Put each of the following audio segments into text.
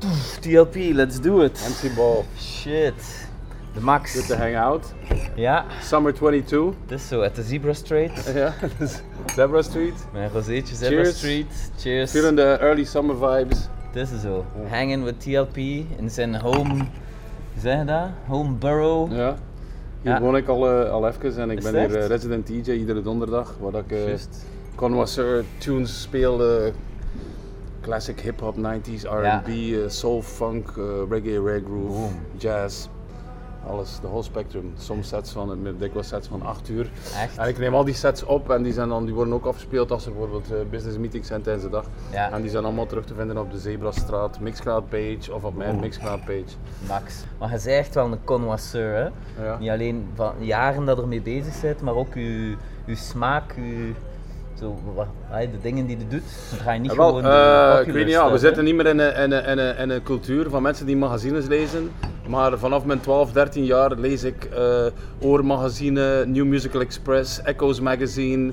TLP, let's do it. MC Ball. Shit. De Max. Good to hang out. Ja. Summer 22. Het is zo, at the Zebra Street. Ja, Zebra Street. Mijn rozeetje Zebra Cheers. Street. Cheers. Feeling the early summer vibes. Het is zo. Hanging with TLP in zijn home, hoe zeg je dat? Home borough. Ja. Hier Ja. woon ik al even en ik Is ben het hier echt? resident DJ iedere donderdag. Waar ik Juist. connoisseur tunes speel. Classic hip-hop, 90s, R&B, soul, funk, reggae, groove, Boom. jazz. Alles, de whole spectrum. Soms sets van, dikwijls sets van 8 uur. Echt? En ik neem al die sets op en die worden ook afgespeeld als er bijvoorbeeld business meetings zijn tijdens de dag. Ja. En die zijn allemaal terug te vinden op de Zebrastraat Mixcloud page of op mijn Mixcloud page. Max. Maar je bent echt wel een connoisseur, hè? Ja. Niet alleen van jaren dat je ermee bezig bent, maar ook je smaak, de dingen die je doet. Dan ga je niet Wel, gewoon de ik popular weet niet, stuff, we hè? zitten niet meer in een cultuur van mensen die magazines lezen. Maar vanaf mijn 12, 13 jaar lees ik Oormagazine, New Musical Express, Echoes Magazine.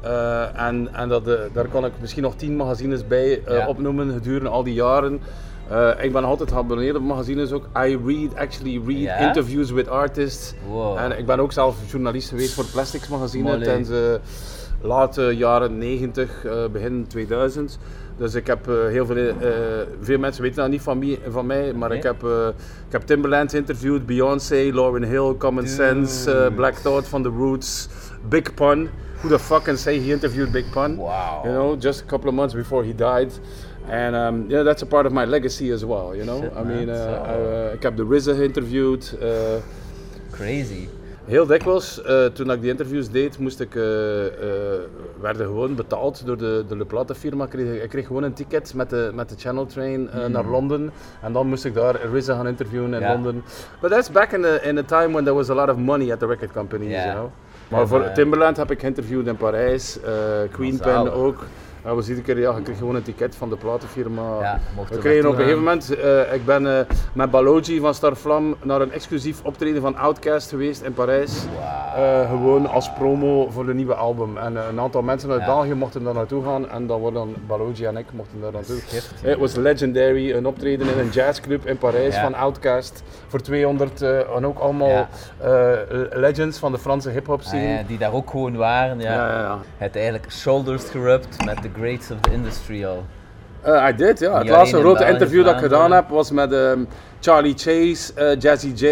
Daar kan ik misschien nog 10 magazines bij opnoemen gedurende al die jaren. Ik ben altijd geabonneerd op magazines ook. I actually read Ja? interviews with artists. Wow. En ik ben ook zelf journalist geweest voor Plastics magazine Molly. tijdens late jaren 90, begin 2000. Dus ik heb veel mensen weten dat niet van mij, maar Nee? ik heb Timbaland interviewd, Beyoncé, Lauryn Hill, Common Dude. Sense, Black Thought van The Roots, Big Pun. Who the fuck can say he interviewed Big Pun? Wow. You know, just a couple of months before he died. And that's a part of my legacy as well, you know. Shit, I mean, man. ik heb de RZA geïnterviewd. Crazy. Heel dikwijls, toen ik die interviews deed, werden gewoon betaald door de platenfirma. Ik kreeg gewoon een ticket met de Channel Train naar Londen. En dan moest ik daar RZA gaan interviewen in Ja. Londen. But that's back in the time when there was a lot of money at the record companies, Ja. you know. Maar voor maar- Timbaland heb ik geïnterviewd in Parijs, Queen Pen Zalig. ook. Was iedere keer, je kreeg gewoon een ticket van de platenfirma. Ja, mocht We er kregen op een naartoe gegeven moment, ik ben met Balogi van Starflam naar een exclusief optreden van Outkast geweest in Parijs. Gewoon als promo voor de nieuwe album. En een aantal mensen uit Ja. België mochten daar naartoe gaan en dan worden Balogi en ik mochten daar naartoe. Schitterend. Het was legendary, een optreden in een jazzclub in Parijs Ja. van Outkast voor 200 en ook allemaal Ja. legends van de Franse hip-hop scene. Ja, die daar ook gewoon waren. Ja. Ja. Het eigenlijk shoulders gerubbed met the greats of the industry al. I did, ja. Het Niet laatste alleen in grote België, interview dat ik gedaan Vlaanderen. heb was met Charlie Chase, Jazzy J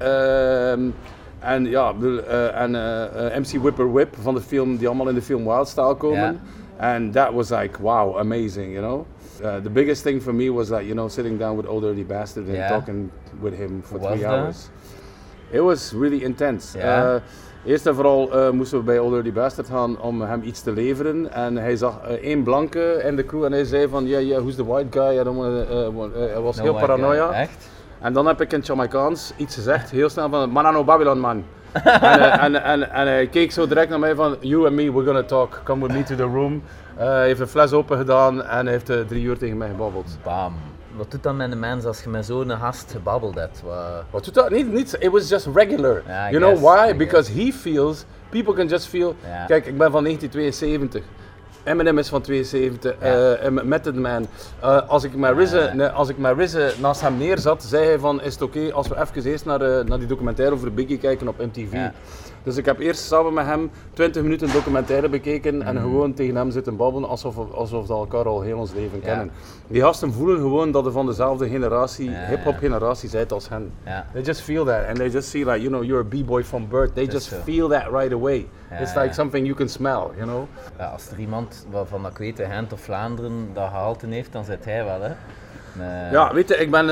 en MC Whipper Whip van de film, die allemaal in de film Wild Style komen. And that was like, wow, amazing, you know. The biggest thing for me was that, you know, sitting down with Old Dirty Bastard and Ja. talking with him for Hoe 3 was dat? hours. It was really intense. Ja. Eerst en vooral moesten we bij Old Dirty Bastard gaan om hem iets te leveren. En hij zag één blanke in de crew en hij zei van, yeah, who's the white guy? Hij was heel paranoia. Echt? En dan heb ik in Jamaicaans iets gezegd, heel snel van, Manano Babylon man. en hij keek zo direct naar mij van, you and me, we're gonna talk, come with me to the room. Hij heeft een fles open gedaan en hij heeft 3 uur tegen mij gebabbeld. Bam. Wat doet dan met een mens als je met zo'n gast gebabbeld hebt? Wat doet dat? Niet, it was just regular. Ja, I You know guess, why? I Because he feels, people can just feel, Ja. kijk, ik ben van 1972. Eminem is van 72, Method Man. Als ik met RZA naast hem neerzat, zei hij van, is het oké als we even eerst naar die documentaire over Biggie kijken op MTV. Ja. Dus ik heb eerst samen met hem 20 minuten documentaire bekeken en gewoon tegen hem zitten babbelen alsof we elkaar al heel ons leven kennen. Die gasten voelen gewoon dat we van dezelfde generatie, hip-hop generatie zijn als hen. Ja. They just feel that and they just see like, you know, you're a b-boy from birth. They just zo. feel that right away. Ja, It's like ja. something you can smell, you know. Ja, als er iemand waarvan ik weet, Gent of Vlaanderen, dat gehalte heeft, dan zit hij wel, hè? Ja, weet je, ik ben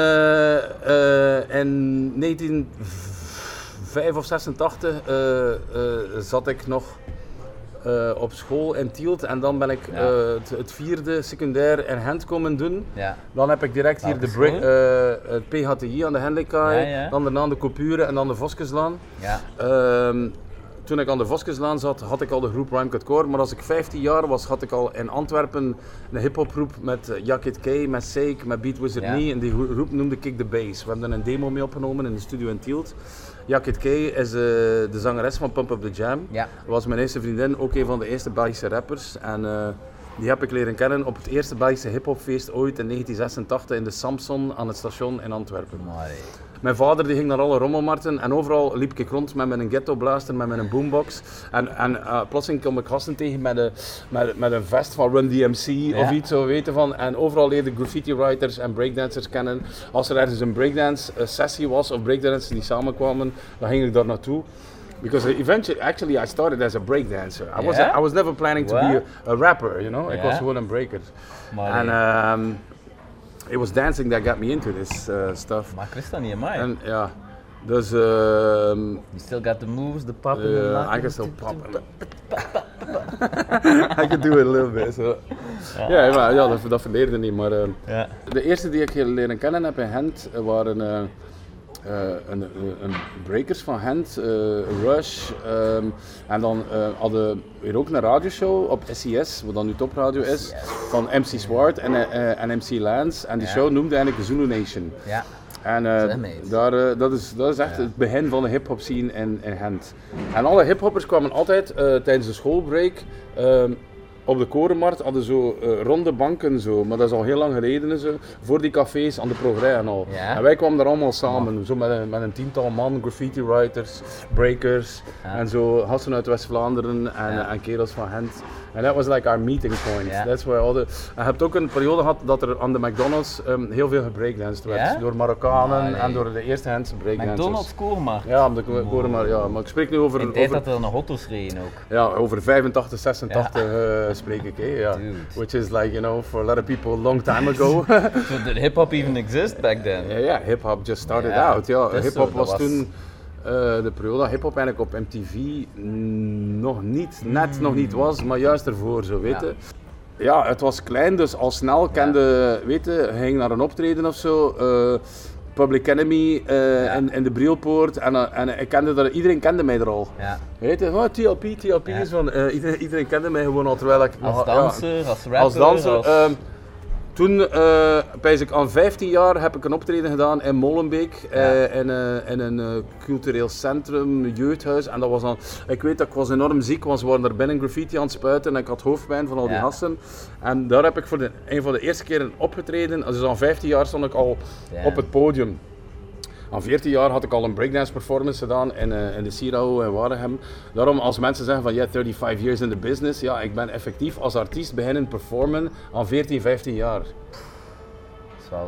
in 1985 of 86 zat ik nog op school in Tielt en dan ben ik het vierde secundair in Gent komen doen. Ja. Dan heb ik direct hier Welke het PHTI aan de Hendrikaai, Ja. dan daarna de Coupure en dan de Voskeslaan. Ja. Toen ik aan de Voskeslaan zat, had ik al de groep Rhyme Cut Core, maar als ik 15 jaar was, had ik al in Antwerpen een hip-hopgroep met Yakit K, met Seik, met Beat Wizard Ja. Me en die groep noemde Kick the Bass. We hebben er een demo mee opgenomen in de studio in Tielt. Yakit K is de zangeres van Pump Up The Jam. Ja. Dat was mijn eerste vriendin, ook een van de eerste Belgische rappers. En Die heb ik leren kennen op het eerste Belgische hiphopfeest ooit in 1986 in de Samson aan het station in Antwerpen. Amai. Mijn vader die ging naar alle rommelmarkten en overal liep ik rond met mijn ghetto blaster, met mijn boombox. En plotseling kom ik gasten tegen met een vest van Run DMC of iets zo weten van. En overal leerde ik graffiti writers en breakdancers kennen. Als er ergens een breakdance sessie was of breakdancers die samenkwamen, dan ging ik daar naartoe. Because eventually I started as a breakdancer. I was never planning to be a rapper, you know. Ik was gewoon een breaker. En it was dancing that got me into this stuff. Maar ik wist dat niet, amai. En ja, dus... you still got the moves, the popping, I can still pop. I can do it a little bit. So. Ja, dat verleerde niet, maar... De eerste die ik leren kennen heb in Gent waren... een breakers van Gent, Rush, en dan hadden we ook een radioshow op SES, wat dan nu topradio is, van MC Swart en MC Lance. En die show noemde eigenlijk de Zulu Nation. Ja. En dat is echt het begin van de hip-hop scene in Gent. En alle hip-hoppers kwamen altijd tijdens de schoolbreak. Op de Korenmarkt hadden zo ronde banken, zo, maar dat is al heel lang geleden en zo, voor die cafés aan de Progrès en al. Ja. En wij kwamen daar allemaal samen, zo met een 10-tal man, graffiti writers, breakers en zo, gasten uit West-Vlaanderen en kerels van Gent. En dat was like our meeting point. That's where je hebt ook een periode gehad dat er aan de McDonald's heel veel gebreakdanced werd, door Marokkanen en door de eerste Gentse breakdancers. McDonald's Korenmarkt? Ja, op de Korenmarkt, ja, maar ik spreek nu over... In de tijd dat er nog auto's reden ook. Ja, over 85, 86 spreek ik, ja. Which is like, you know, for a lot of people a long time ago. So did hip-hop even exist back then? Ja, hip-hop just started out. Ja, hip-hop was toen de periode dat hip-hop eigenlijk op MTV nog niet was, maar juist ervoor, zo weten. Ja, het was klein, dus al snel kende, je ging naar een optreden of zo. Public Enemy in de Brielpoort en ik kende dat, iedereen kende mij er al. Ja. Weet je, TLP is van, iedereen kende mij gewoon al terwijl ik... Als danser, als rapper? Als danser. Toen, pijs ik aan 15 jaar, heb ik een optreden gedaan in Molenbeek, in een cultureel centrum, een jeugdhuis. En dat was dan, ik weet dat ik was enorm ziek, want ze waren daar binnen graffiti aan het spuiten en ik had hoofdpijn van al die gasten. En daar heb ik voor een van de eerste keren opgetreden, dus aan 15 jaar stond ik al op het podium. Aan 14 jaar had ik al een breakdance performance gedaan in de Sierau in Waregem. Daarom als mensen zeggen van 35 years in the business, ja, ik ben effectief als artiest beginnen performen aan 14, 15 jaar. Dat is wel...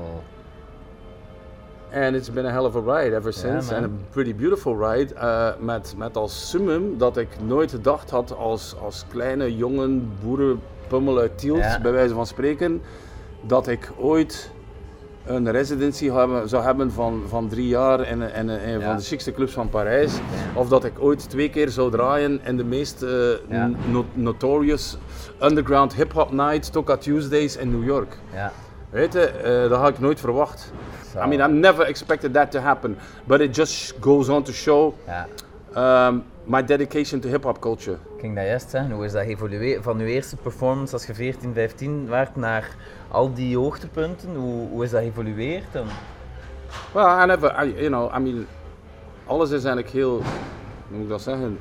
And it's been a hell of a ride ever since. And a pretty beautiful ride. Met als summum dat ik nooit gedacht had als kleine jongen boerenpummel uit Tielt, bij wijze van spreken, dat ik ooit een residency zou hebben van 3 jaar in van de chicste clubs van Parijs. Ja. Of dat ik ooit 2 keer zou draaien in de meest notorious underground hip-hop nights, Toka Tuesdays in New York. Ja. Weet je, dat had ik nooit verwacht. So. I mean, I never expected that to happen. But it just goes on to show my dedication to hip-hop culture. Ik ging dat juist zeggen, hoe is dat geëvolueerd van uw eerste performance als je 14, 15 werd naar al die hoogtepunten? Hoe is dat geëvolueerd? Well, I mean, alles is eigenlijk heel, hoe moet ik dat zeggen?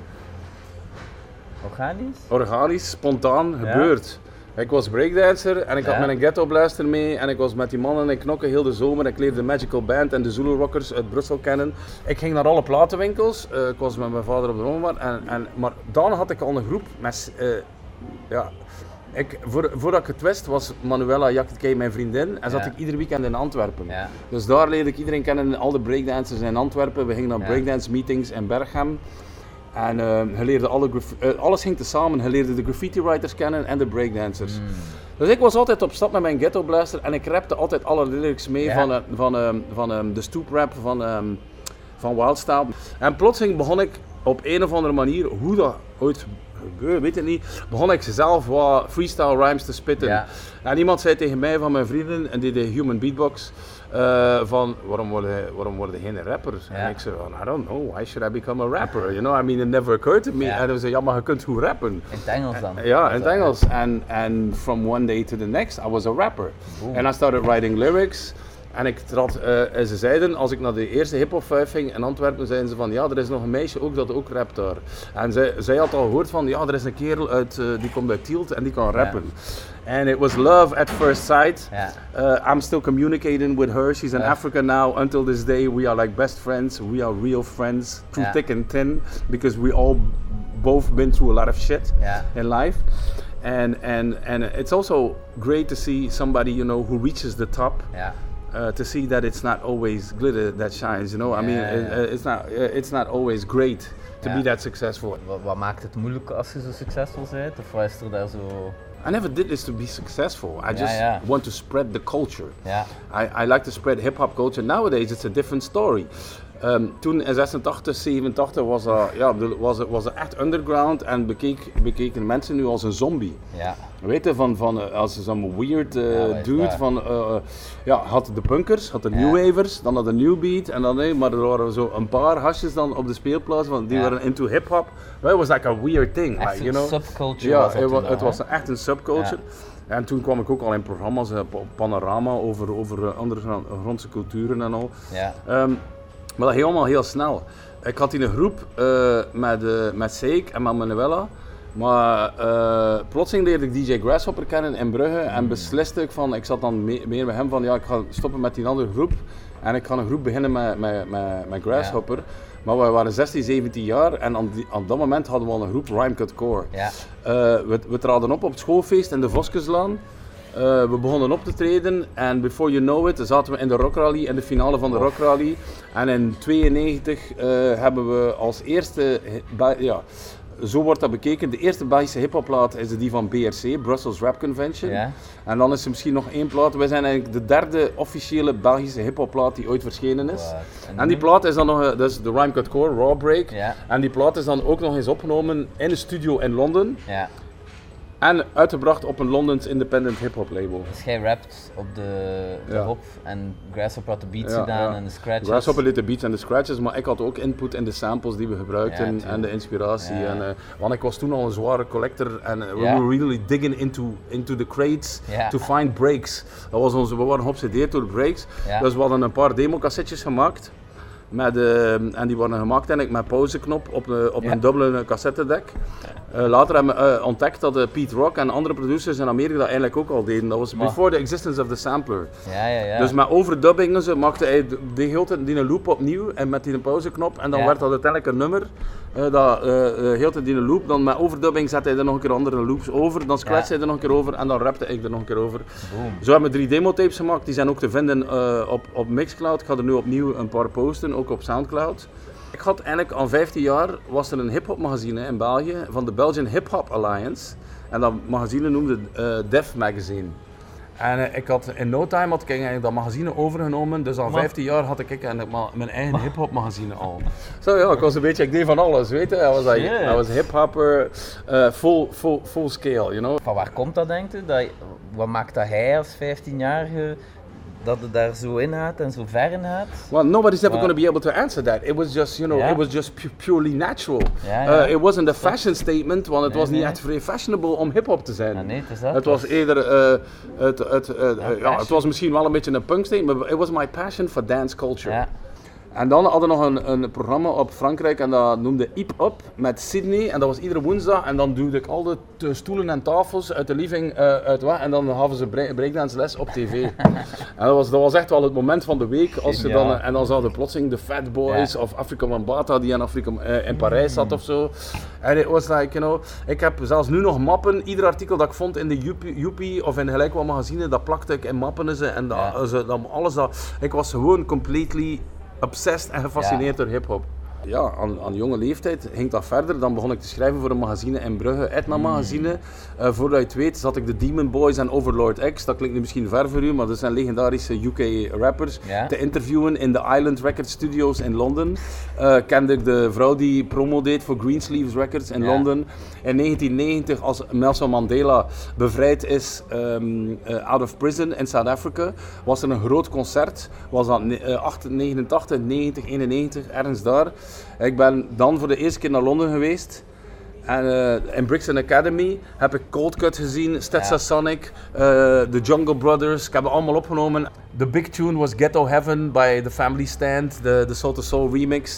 Organisch, spontaan gebeurd. Ik was breakdancer en ik had met een ghetto blaster mee en ik was met die mannen en knokken heel de zomer. Ik leerde de Magical Band en de Zulu Rockers uit Brussel kennen. Ik ging naar alle platenwinkels, ik was met mijn vader op de rommelmarkt, maar dan had ik al een groep met, voordat ik het wist was Manuela Jakkeke mijn vriendin en zat ik ieder weekend in Antwerpen. Ja. Dus daar leerde ik iedereen kennen, al de breakdancers in Antwerpen. We gingen naar breakdance meetings in Berchem. En je leerde alles ging tezamen. Je leerde de graffiti writers kennen en de breakdancers. Dus ik was altijd op stap met mijn ghetto blaster en ik rapte altijd alle lyrics mee van de stoep rap van Wildstyle. En plotseling begon ik op een of andere manier, hoe dat ooit gebeurde, weet ik niet, begon ik zelf wat freestyle rhymes te spitten. Ja. En iemand zei tegen mij van mijn vrienden, en die deed human beatbox, van waarom word je geen rapper? Ja. En ik zei, I don't know, why should I become a rapper? You know, I mean, it never occurred to me. Ja. En hij zei, ja, maar je kunt goed rappen. In het Engels dan? Ja, in het Engels. And from one day to the next, I was a rapper. Boom. And I started writing lyrics. En ik trad, en ze zeiden, als ik naar de eerste hip-hop ging in Antwerpen, zeiden ze van ja, er is nog een meisje ook dat ook rapt daar. En zij had al gehoord van ja, er is een kerel uit, die komt uit Tielt en die kan rappen. And it was love at first sight. I'm still communicating with her. She's in Africa now. Until this day, we are like best friends. We are real friends, through thick and thin, because we all both been through a lot of shit in life. And it's also great to see somebody, you know, who reaches the top. To see that it's not always glitter that shines, you know. I mean, it's not always great to be that successful. Wat maakt het moeilijk als je zo succesvol bent? Of wat is er daar zo? I never did this to be successful. I just want to spread the culture. I like to spread hip-hop culture. Nowadays it's a different story. Toen in 86, 87 was er echt underground en bekeken mensen nu als een zombie. Weet je, van als zo'n weird dude van, had de punkers, had de new wavers, dan had de new beat en dan maar er waren zo een paar hasjes dan op de speelplaats van die waren into hip-hop. It was like a weird thing, echt like, you know. Subculture was het was echt een subculture. En toen kwam ik ook al in programma's op Panorama over ondergrondse culturen en al. Maar dat helemaal heel snel. Ik had in een groep met Seik en met Manuela. Maar plotseling leerde ik DJ Grasshopper kennen in Brugge en besliste ik van, ik zat dan meer met hem van, ja, ik ga stoppen met die andere groep en ik ga een groep beginnen met Grasshopper. Maar we waren 16, 17 jaar en aan dat moment hadden we al een groep Rhyme Cut Core. We traden op het schoolfeest in de Voskeslaan. We begonnen op te treden en before you know it zaten we in de Rock Rally, in de finale van de Rock Rally. En in 92 hebben we als eerste, zo wordt dat bekeken, de eerste Belgische hiphopplaat is die van BRC, Brussels Rap Convention. En dan is er misschien nog één plaat. Wij zijn eigenlijk de derde officiële Belgische hiphopplaat die ooit verschenen is. En die plaat is dan nog, dat is de Rhyme Cut Core, Raw Break. En die plaat is dan ook nog eens opgenomen in een studio in Londen. En uitgebracht op een Londens independent hip-hop label. Dus jij rapt op de hop en Grasshopper had de beats gedaan en de scratches. Grasshopper deed de beats en de scratches, maar ik had ook input in de samples die we gebruikten en de inspiratie. Want ik was toen al een zware collector en we were really digging into the crates to find breaks. Dat was we waren geobsedeerd door breaks. Dus we hadden een paar democassettes gemaakt. En die worden gemaakt eigenlijk met pauzeknop op een dubbele cassettedek. Later hebben we ontdekt dat Pete Rock en andere producers in Amerika dat eigenlijk ook al deden. Dat was before the existence of the sampler. Dus met overdubbingen maakte hij die een loop opnieuw en met die pauzeknop en dan werd dat uiteindelijk een nummer. Heel die loop, dan met overdubbing zette hij er nog een keer andere loops over, dan scratchte hij er nog een keer over en dan rapte ik er nog een keer over. Zo hebben we 3 demotapes gemaakt, die zijn ook te vinden op Mixcloud. Ik ga er nu opnieuw een paar posten, ook op Soundcloud. Ik had eigenlijk al 15 jaar, was er een hip-hop magazine in België van de Belgian Hip Hop Alliance en dat magazine noemde Def Magazine. En ik had in no time eigenlijk dat magazine overgenomen, dus al 15 jaar had ik mijn eigen hip-hop magazine al. Zo ik was een beetje, ik deed van alles, weet je. I was hip-hopper, full scale, you know. Van waar komt dat, denk je? Wat maakt dat hij als 15-jarige dat het daar zo in gaat en zo ver in gaat? Well, nobody's ever going to be able to answer that. It was just, it was just purely natural. It wasn't a fashion statement, want het was niet echt vrij fashionable om hip-hop te zijn. Het was eerder, het was misschien wel een beetje een punk statement, but it was my passion for dance culture. En dan hadden we nog een programma op Frankrijk en dat noemde Hip Hop met Sydney en dat was iedere woensdag en dan duwde ik al de stoelen en tafels uit de living uit weg en dan hadden ze breakdance les op tv. En dat was echt wel het moment van de week als ze dan, en dan zaten plotseling de Fat Boys of Afrika Bambaataa die in Parijs zat of zo. En it was like, ik heb zelfs nu nog mappen, ieder artikel dat ik vond in de Joepie of in gelijk wat magazine, dat plakte ik in mappen en alles dat, ik was gewoon completely obsessed en gefascineerd door hip-hop. Ja, aan jonge leeftijd ging dat verder. Dan begon ik te schrijven voor een magazine in Brugge, Etna magazine. Voordat je het weet zat ik de Demon Boys en Overlord X, dat klinkt nu misschien ver voor u, maar dat zijn legendarische UK rappers, te interviewen in de Island Record Studios in Londen. Kende ik de vrouw die promo deed voor Greensleeves Records in Londen. In 1990, als Nelson Mandela bevrijd is out of prison in South Africa, was er een groot concert. Was dat 89, 90, 91, ergens daar. Ik ben dan voor de eerste keer naar Londen geweest. En in Brixton Academy heb ik Cold Cut gezien, Stetsasonic, The Jungle Brothers. Ik heb het allemaal opgenomen. The big tune was Ghetto Heaven by The Family Stand, de Soul to Soul remix.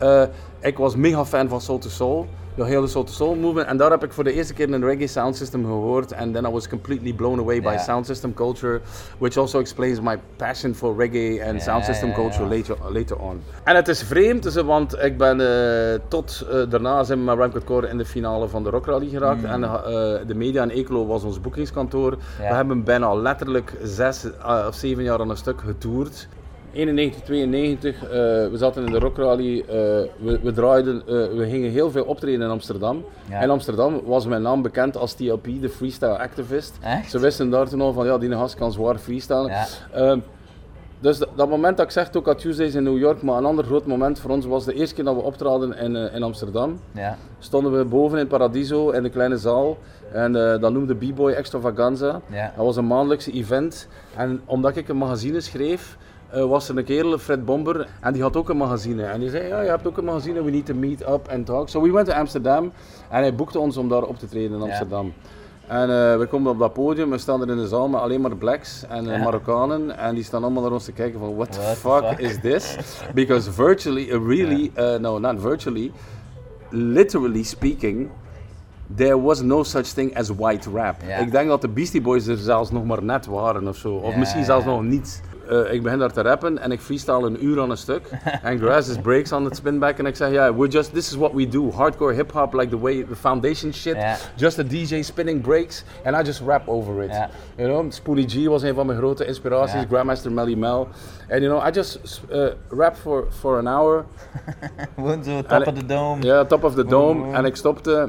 Ik was mega fan van Soul to Soul. De hele Soul to Soul movement. En daar heb ik voor de eerste keer een reggae sound system gehoord. And then I was completely blown away by sound system culture. Which also explains my passion for reggae and sound system culture later on. En het is vreemd, want ik ben tot daarna zijn we met Ramcut Core in de finale van de Rock Rally geraakt. En de media in Eeklo was ons boekingskantoor. We hebben bijna letterlijk 6 of 7 jaar aan een stuk getoerd. 91, 92, we zaten in de Rock Rally, we draaiden, we gingen heel veel optreden in Amsterdam. Ja. In Amsterdam was mijn naam bekend als TLP, de freestyle activist. Echt? Ze wisten daar toen al van, ja, die gast kan zwaar freestylen. Ja. Dus dat moment dat ik zeg, ook at Tuesdays in New York, maar een ander groot moment voor ons was de eerste keer dat we optraden in Amsterdam. Ja. Stonden we boven in Paradiso in de kleine zaal en dat noemde B-Boy Extravaganza. Ja. Dat was een maandelijkse event en omdat ik een magazine schreef, was er een kerel, Fred Bomber, en die had ook een magazine. En die zei, ja, je hebt ook een magazine, we need to meet up and talk. So we went to Amsterdam en hij boekte ons om daar op te treden in Amsterdam. Ja. En we komen op dat podium, we staan er in de zaal met alleen maar blacks en Marokkanen. En die staan allemaal naar ons te kijken van, what the fuck is this? Because virtually, no, not virtually, literally speaking, there was no such thing as white rap. Ja. Ik denk dat de Beastie Boys er zelfs nog maar net waren of zo. Of misschien zelfs nog niet. Ik begin daar te rappen en ik freestyle een uur aan een stuk. En Graz is breaks on het spinback en ik zeg, this is what we do. Hardcore hip hop, like the foundation shit. Yeah. Just a DJ spinning breaks and I just rap over it. Yeah. You know, Spoonie G was een van mijn grote inspiraties, Grandmaster Melly Mel. And you know, I just rap for an hour. Gewoon zo, top of the dome. Ja, top of the dome. En ik stopte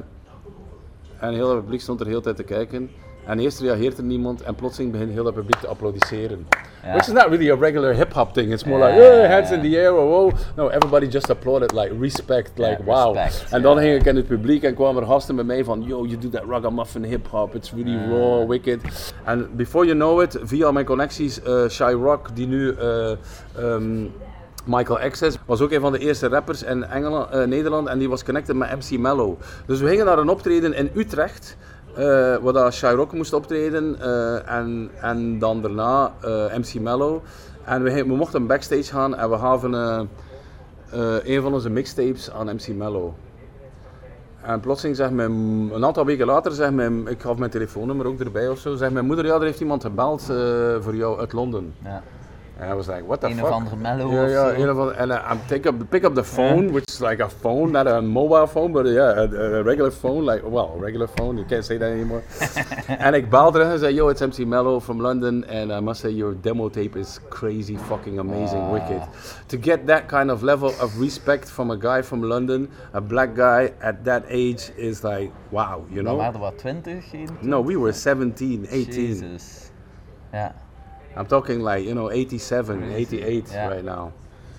en heel het publiek stond er heel de tijd te kijken. En eerst reageert er niemand en plotseling begint heel het publiek te applaudisseren. Yeah. Which is not really a regular hip-hop thing. It's more like, hands in the air, oh. No, everybody just applauded, like, respect, like, wow. Respect, en dan ging ik in het publiek en kwamen er gasten bij mij van, yo, you do that ragamuffin hip-hop, it's really raw, wicked. And before you know it, via mijn connecties, Shy Rock, die nu Michael X was ook een van de eerste rappers in Nederland en die was connected met MC Mello. Dus we gingen naar een optreden in Utrecht. Waar Shy Rock moest optreden en dan daarna MC Mello. En we mochten backstage gaan en we gaven een van onze mixtapes aan MC Mello. En plotseling zegt een aantal weken later, ik gaf mijn telefoonnummer ook erbij of zo, zegt mijn moeder, ja, er heeft iemand gebeld voor jou uit Londen. Ja. And I was like, what the fuck? Een of andere Mello and I pick up the phone, which is like a phone, not a mobile phone, but a regular phone, like, well, a regular phone, you can't say that anymore. En ik belde terug en zei, yo, it's MC Mello from London, and I must say your demo tape is crazy, fucking amazing, wicked. To get that kind of level of respect from a guy from London, a black guy at that age is like, wow, you know? We waren wat, 20? No, we were 17, 18. Jesus. Yeah. I'm talking like, you know, 87, 88 right now.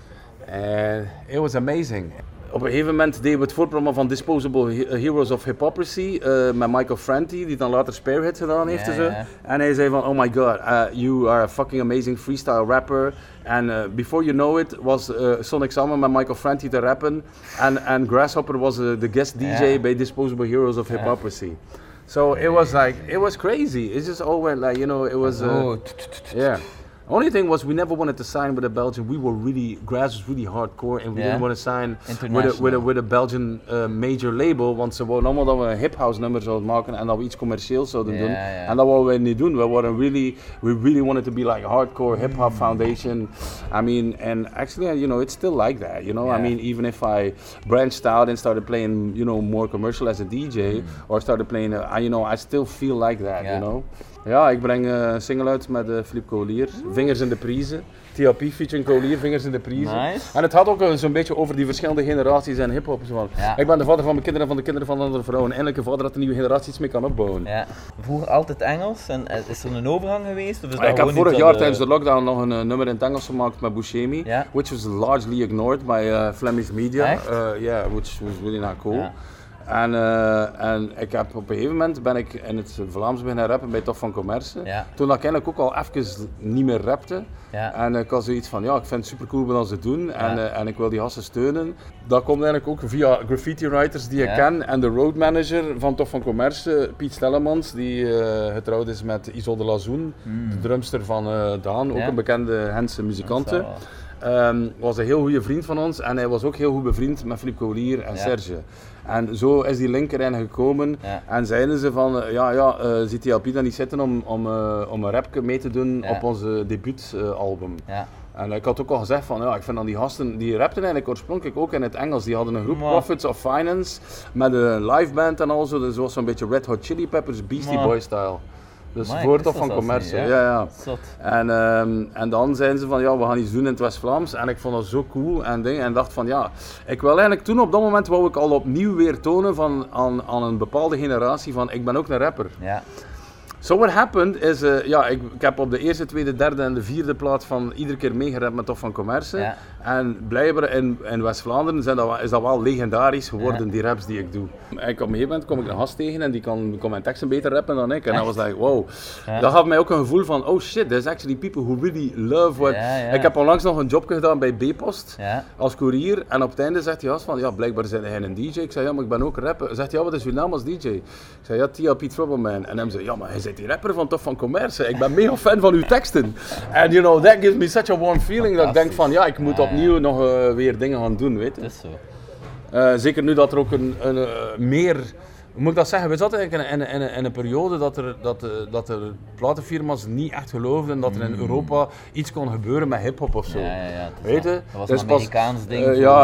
And it was amazing. Op een gegeven moment deden we het voorprogramma van Disposable Heroes of Hypocrisy met Michael Franti, die dan later Spearhead gedaan heeft. En hij zei van, oh my god, you are a fucking amazing freestyle rapper. En before you know it was Sonic samen met Michael Franti te rappen. En Grasshopper was de guest DJ bij Disposable Heroes of Hypocrisy. So it was like, it was crazy. It just all went like, you know, it was, yeah. Only thing was we never wanted to sign with a Belgian. We were really, Graz was really hardcore and we didn't want to sign with a Belgian major label. Want ze wouden allemaal dat we een hip-house nummer zouden maken en dat we iets commercieels zouden doen. En dat wouden we niet doen. We really wanted to be like a hardcore hip-hop foundation. I mean, and actually, you know, it's still like that, you know. I mean, even if I branched out and started playing, you know, more commercial as a DJ or started playing, you know, I still feel like that, you know. Ja, ik breng een single uit met Philippe Collier, Vingers in de Prijzen. TLP featuring Collier, Vingers in de Prijzen. Nice. En het gaat ook zo'n beetje over die verschillende generaties en hip-hop. Ik ben de vader van mijn kinderen en van de kinderen van andere vrouwen. En eindelijk een vader dat de nieuwe generatie iets mee kan opbouwen. Ja. Vroeger altijd Engels en is er een overgang geweest? Of is ik heb vorig jaar tijdens de lockdown nog een nummer in het Engels gemaakt met Buscemi, which was largely ignored by Flemish media. Which was really not cool. Ja. En ik heb op een gegeven moment ben ik in het Vlaams beginnen rappen bij Tof van Commerce. Ja. Toen ik eigenlijk ook al even niet meer rapte. Ja. En ik had zoiets van, ja, ik vind het super cool wat ze doen en ik wil die gasten steunen. Dat komt eigenlijk ook via graffiti writers die ik ken en de road manager van Tof van Commerce, Piet Stellemans, die getrouwd is met Isolde Lazoen, de drumster van Daan, ook een bekende Gentse muzikante. Was een heel goede vriend van ons en hij was ook heel goed bevriend met Philippe Collier en Serge. En zo is die link erin gekomen en zeiden ze van, ziet die LP dan niet zitten om een rapje mee te doen op onze debuutalbum. En ik had ook al gezegd van, ik vind dan die gasten, die rapten eigenlijk oorspronkelijk ook in het Engels. Die hadden een groep, Profits of Finance, met een live band en al zo. Dus was zo'n beetje Red Hot Chili Peppers, Beastie Boy style. Dus voor Tof van Commerce. En dan zeiden ze van, we gaan iets doen in het West-Vlaams. En ik vond dat zo cool en dacht van, ik wil eigenlijk toen op dat moment wou ik al opnieuw weer tonen aan een bepaalde generatie van, ik ben ook een rapper. So what happened is, ik heb op de eerste, tweede, derde en de vierde plaats van iedere keer meegerapt met Tof van Commerce. En blijkbaar in West-Vlaanderen is dat wel legendarisch geworden, die raps die ik doe. En op een gegeven moment kom ik een gast tegen en die kon mijn teksten beter rappen dan ik. En dat was like, wow. Dat gaf mij ook een gevoel van, oh shit, there's actually people who really love what... Ik heb onlangs nog een job gedaan bij B-Post als courier. En op het einde zegt die gast van, blijkbaar zijn hij een DJ. Ik zei, maar ik ben ook rapper. Zegt hij, wat is uw naam als DJ? Ik zei, TLP Troubleman. En hij zei, maar hij bent die rapper van Tof van Commerce. Ik ben mega fan van uw teksten. En that gives me such a warm feeling dat ik denk van, ik moet opnieuw nog weer dingen gaan doen, weet je. Dat is zo. Zeker nu dat er ook een meer... Hoe moet ik dat zeggen? We zaten eigenlijk in een periode dat er platenfirma's niet echt geloofden dat er in Europa iets kon gebeuren met hip-hop of zo. Weet je? Dat was een Amerikaans ding.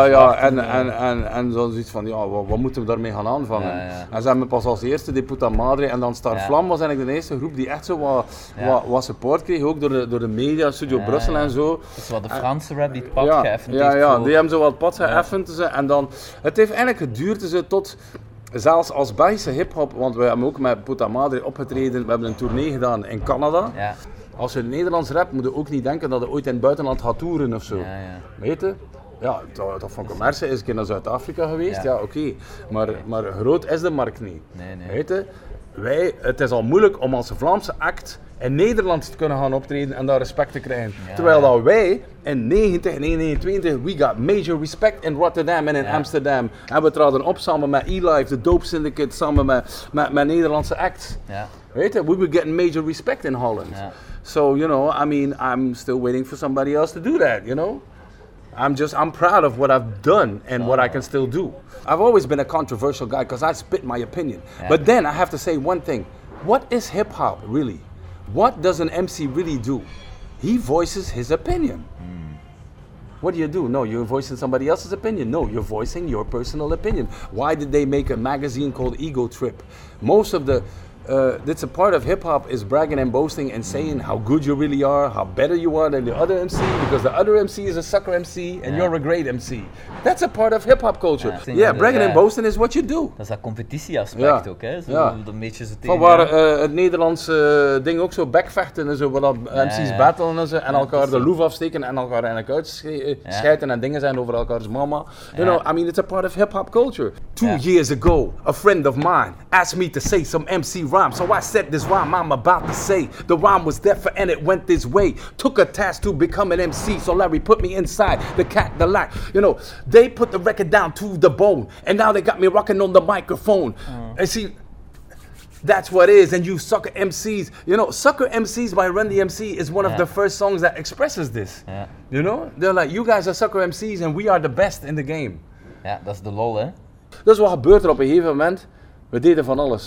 En dan zoiets van, wat moeten we daarmee gaan aanvangen? En ze hebben pas als eerste de Puta Madre en dan Star Flam was eigenlijk de eerste groep die echt zo wat support kreeg, ook door de media, Studio Brussel en zo. Dat is wat de Franse rap die het pad geëffend heeft. Die hebben zo wat pad geëffend. En dan, het heeft eigenlijk geduurd tot... Zelfs als Belgische hip-hop, want we hebben ook met Puta Madre opgetreden, we hebben een tournee gedaan in Canada. Als je Nederlands rapt, moet je ook niet denken dat je ooit in het buitenland gaat toeren of zo. Weet je? Tof van Commerce is een keer naar Zuid-Afrika geweest, oké. Maar groot is de markt niet. Weet je? Het is al moeilijk om als Vlaamse act in Nederland te kunnen gaan optreden en daar respect te krijgen. Terwijl dat wij in 1929, we got major respect in Rotterdam en in Amsterdam. En we traden op samen met E-Life, de Dope Syndicate, samen met Nederlandse acts. Weet je, we were getting major respect in Holland. So, I'm still waiting for somebody else to do that, I'm proud of what I've done and what I can still do. I've always been a controversial guy because I spit my opinion. But then I have to say one thing. What is hip-hop really? What does an MC really do? He voices his opinion. What do? No, you're voicing somebody else's opinion. No, you're voicing your personal opinion. Why did they make a magazine called Ego Trip? Most of the... that's a part of hip-hop is bragging and boasting and saying how good you really are, how better you are than the other MC, because the other MC is a sucker MC and you're a great MC. That's a part of hip-hop culture. Bragging and boasting is what you do. Dat is dat competitieaspect ook, hè? Een beetje zo tegen... Van waar het Nederlandse ding ook zo backvechten en zo, waar dat MC's battlen en zo, en elkaar de loef afsteken en elkaar eigenlijk uitschijten en dingen zijn over elkaars mama. It's a part of hip-hop culture. 2 years ago, a friend of mine asked me to say some MC rhyme, so I said this rhyme I'm about to say. The rhyme was different and it went this way. Took a task to become an MC, so Larry put me inside the cat, the lack. They put the record down to the bone, and now they got me rocking on the microphone. And see, that's what it is. And you sucker MCs, Sucker MCs by Run DMC is one of the first songs that expresses this. They're like, you guys are sucker MCs and we are the best in the game. Ja, dat is de lol, hè? Dus wat gebeurt er op een gegeven moment? We deden van alles.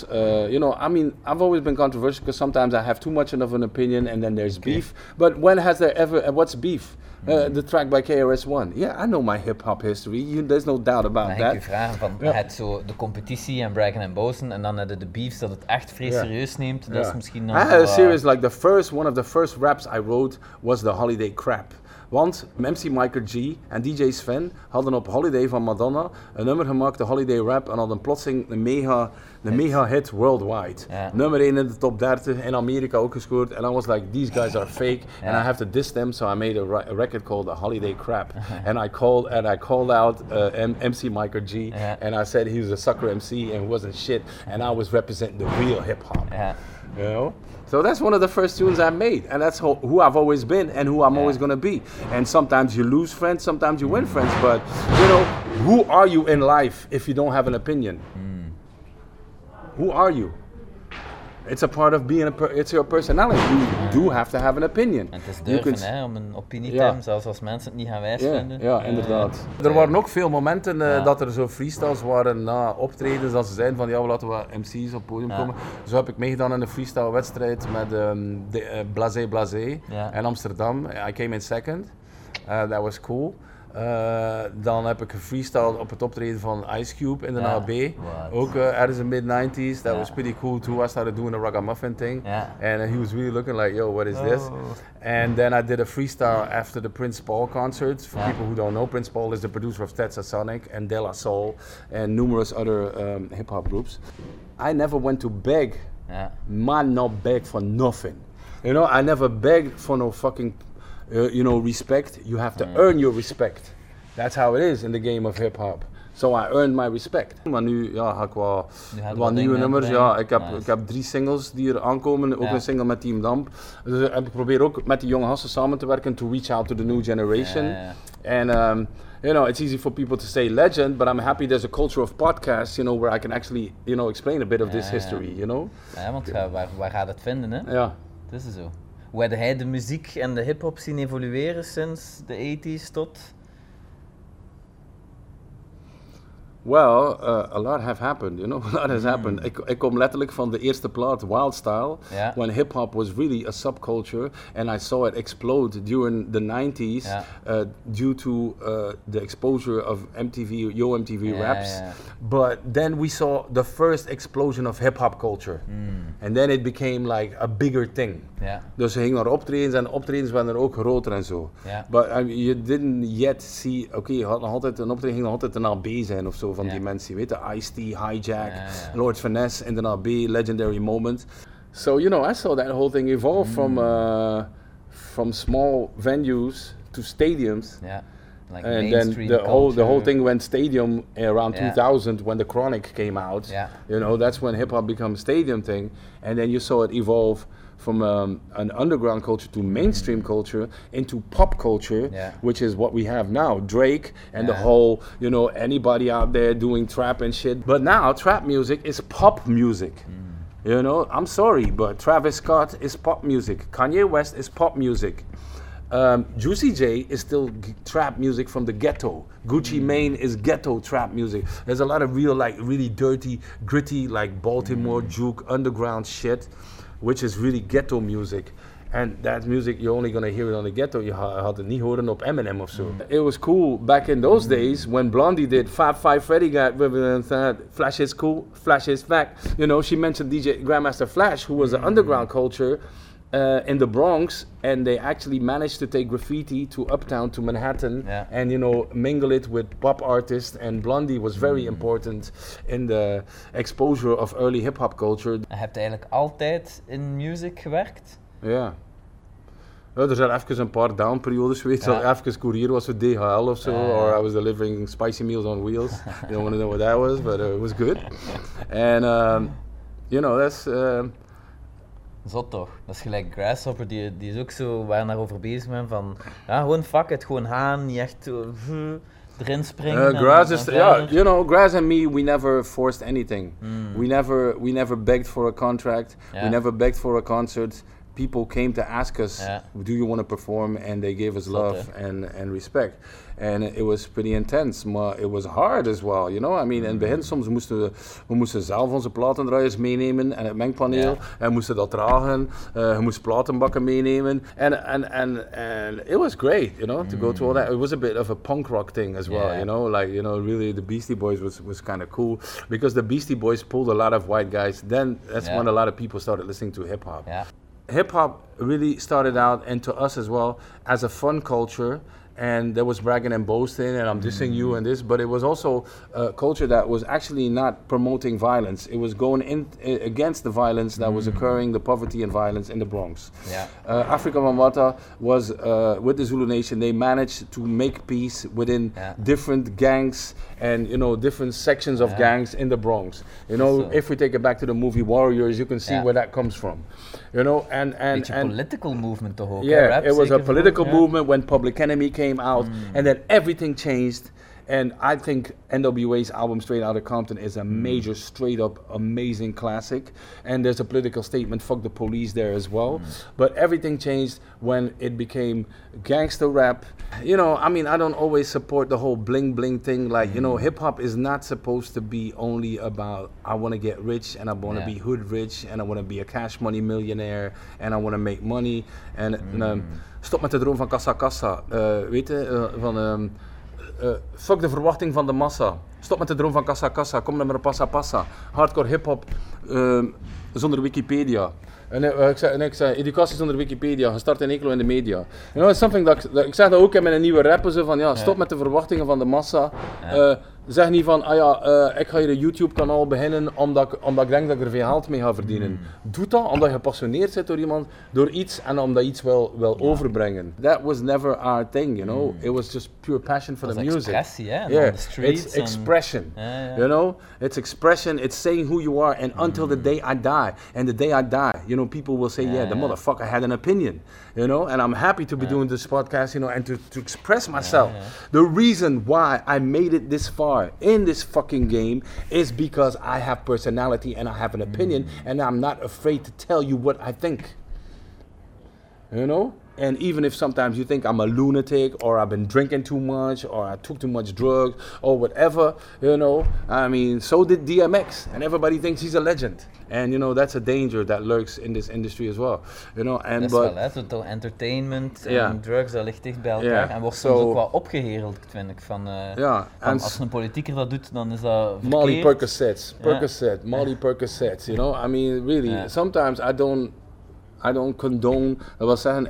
I've always been controversial because sometimes I have too much of an opinion and then there's beef. But when has there ever, what's beef? The track by KRS-One. Yeah, I know my hip-hop history. There's no doubt about that. Dan ga ik je vragen van, het zo de competitie en braggen en boasten en dan de beefs dat het echt vrij serieus neemt. Dat is misschien nog... I had a series like one of the first raps I wrote was the Holiday Crap. Want MC Michael G en DJ Sven hadden op Holiday van Madonna een nummer gemaakt, de Holiday Rap, en hadden plotseling een mega hit worldwide. Nummer 1 in de top 30, in Amerika ook gescoord. En I was like, these guys are fake and I have to diss them, so I made a record called The Holiday Crap. And I called out MC Michael G and I said he was a sucker MC and wasn't shit and I was representing the real hip hop. You know? So that's one of the first tunes I made, and that's who I've always been and who I'm always gonna be. And sometimes you lose friends, sometimes you win friends, but you know, who are you in life if you don't have an opinion? Who are you? It's a part of being it's your personality. You do have to have an opinion. En het is durven om een opinie te hebben, zelfs als mensen het niet gaan wijsvinden. Ja, inderdaad. Er waren ook veel momenten dat er zo freestyles waren na optredens, dat ze zeiden van ja, we laten we MC's op het podium komen. Zo heb ik meegedaan in een freestyle wedstrijd met Blasé Blasé in Amsterdam. I came in second. That was cool. Dan heb ik gefreestyled op het optreden van Ice Cube in de AB. Ook ergens in mid-90s. That was pretty cool too. I started doing the ragamuffin thing. And he was really looking like, yo, what is this? And then I did a freestyle after the Prince Paul concerts. For people who don't know, Prince Paul is the producer of Stetsasonic and De La Soul and numerous other hip-hop groups. I never went to beg. Man, not beg for nothing. You know, I never begged for no fucking respect. You have to earn your respect. That's how it is in the game of hip-hop. So I earned my respect. Maar nu ga ik wat nieuwe nummers. Ja, ik heb 3 singles die er aankomen. Ook een single met Team Damp. Dus ik probeer ook met die jonge gasten samen te werken. To reach out to the new generation. And it's easy for people to say legend, but I'm happy there's a culture of podcasts, where I can actually, explain a bit of this history, Ja, want waar gaat het vinden, hè? Ja. Dat is zo. Hoe heb hij de muziek en de hip-hop zien evolueren sinds de 80s tot? Well, a lot have happened, a lot has happened. Ik kom letterlijk van de eerste plaat, Wild Style, when hip-hop was really a subculture, and I saw it explode during the 90s due to the exposure of MTV, Yo MTV Raps. But then we saw the first explosion of hip-hop culture. And then it became like a bigger thing. Dus ze gingen naar optredens en optredens waren er ook groter en zo. But you didn't yet see, je had nog altijd een optreden, ging nog altijd een AB zijn of zo van die mensen, weet je, Ice-T, Hijack, Lord Finesse in de AB, Legendary Moment. So, I saw that whole thing evolve from small venues to stadiums. Like and then the whole thing went stadium around 2000 when the Chronic came out. That's when hip hop became a stadium thing, and then you saw it evolve from an underground culture to mainstream culture into pop culture, which is what we have now. Drake and the whole, anybody out there doing trap and shit. But now trap music is pop music. I'm sorry, but Travis Scott is pop music. Kanye West is pop music. Juicy J is still trap music from the ghetto. Gucci Mane is ghetto trap music. There's a lot of real, really dirty, gritty, Baltimore juke underground shit, which is really ghetto music. And that music, you're only gonna hear it on the ghetto. Je had het niet horen op Eminem of so. It was cool back in those days when Blondie did Fab Five Freddy got Flash is cool, Flash is fact. She mentioned DJ Grandmaster Flash, who was an underground culture in the Bronx, and they actually managed to take graffiti to Uptown, to Manhattan, and mingle it with pop artists. And Blondie was very important in the exposure of early hip-hop culture. Heb je eigenlijk altijd in music gewerkt? Ja. Er zijn even een paar down-periodes geweest. Even courier was voor DHL of zo, or I was delivering spicy meals on wheels. You don't want to know what that was, but it was good. And that's. Zot toch? Dat is gelijk Grasshopper, die is ook zo waar naar over bezig ben van, gewoon fuck it, gewoon gaan, niet echt erin springen. Grass and me, we never forced anything. We never begged for a contract. We never begged for a concert. People came to ask us, do you want to perform? And they gave us love and respect. And it was pretty intense, maar it was hard as well, I mean, in het begin soms we moesten zelf onze platendraaiers meenemen en het mengpaneel en moesten dat dragen. Je moest platenbakken meenemen. And it was great, to go through all that. It was a bit of a punk rock thing as well, really the Beastie Boys was kind of cool because the Beastie Boys pulled a lot of white guys. Then that's when a lot of people started listening to hip hop. Hip hop really started out, and to us as well, as a fun culture. and there was bragging and boasting, and I'm dissing you and this, but it was also a culture that was actually not promoting violence. It was going against the violence that was occurring, the poverty and violence in the Bronx. Yeah. Afrika Bambaataa was, with the Zulu Nation, they managed to make peace within different gangs and, you know, different sections of gangs in the Bronx. You know, So- if we take it back to the movie Warriors, you can see where that comes from. You know, and political movement toch ook, hè? yeah, Rap it was a zeker political vooral, ja. movement when Public Enemy came out, and then everything changed. And I think NWA's album Straight Outta Compton is a major, straight up, amazing classic. And there's a political statement, fuck the police, there as well. But everything changed when it became gangster rap. You know, I mean, I don't always support the whole bling bling thing. Like, you know, hip hop is not supposed to be only about I want to get rich and I want to be hood rich and I want to be a cash money millionaire and I want to make money. En stop met de droom van kassa kassa. Weet je, van... fuck de verwachting van de massa. Stop met de droom van kassa kassa. Kom naar maar passa passa. Hardcore hip-hop zonder Wikipedia. En ik zei, educatie zonder Wikipedia, gestart in Eeklo in de media. You know, it's something dat ik zeg dat ook in mijn nieuwe rappen, zo van ja, stop met de verwachtingen van de massa. Zeg niet van, ik ga hier een YouTube kanaal beginnen omdat ik denk dat ik er veel geld mee ga verdienen. Doe dat omdat je gepassioneerd bent door iemand, door iets en omdat je iets wil overbrengen. That was never our thing, you know. It was just pure passion for the music. Expressie, hè? Yeah, On the streets it's expression. You know, it's expression. It's saying who you are, and until the day I die. And the day I die, you know, people will say, the motherfucker had an opinion. You know, and I'm happy to be doing this podcast, you know, and to express myself. The reason why I made it this far in this fucking game is because I have personality and I have an opinion, and I'm not afraid to tell you what I think. You know? And even if sometimes you think I'm a lunatic or I've been drinking too much or I took too much drugs or whatever, you know, I mean, so did DMX and everybody thinks he's a legend. And you know, that's a danger that lurks in this industry as well. You know, and dat is wel, hè, toch entertainment en drugs, dat ligt dicht bij elkaar. En wordt soms ook wel opgehereld, vind ik. Van, als een politieker dat doet, dan is dat verkeerd. Molly Percocet, Molly Percocet, you know, I mean, really, sometimes I don't condone, dat wil zeggen,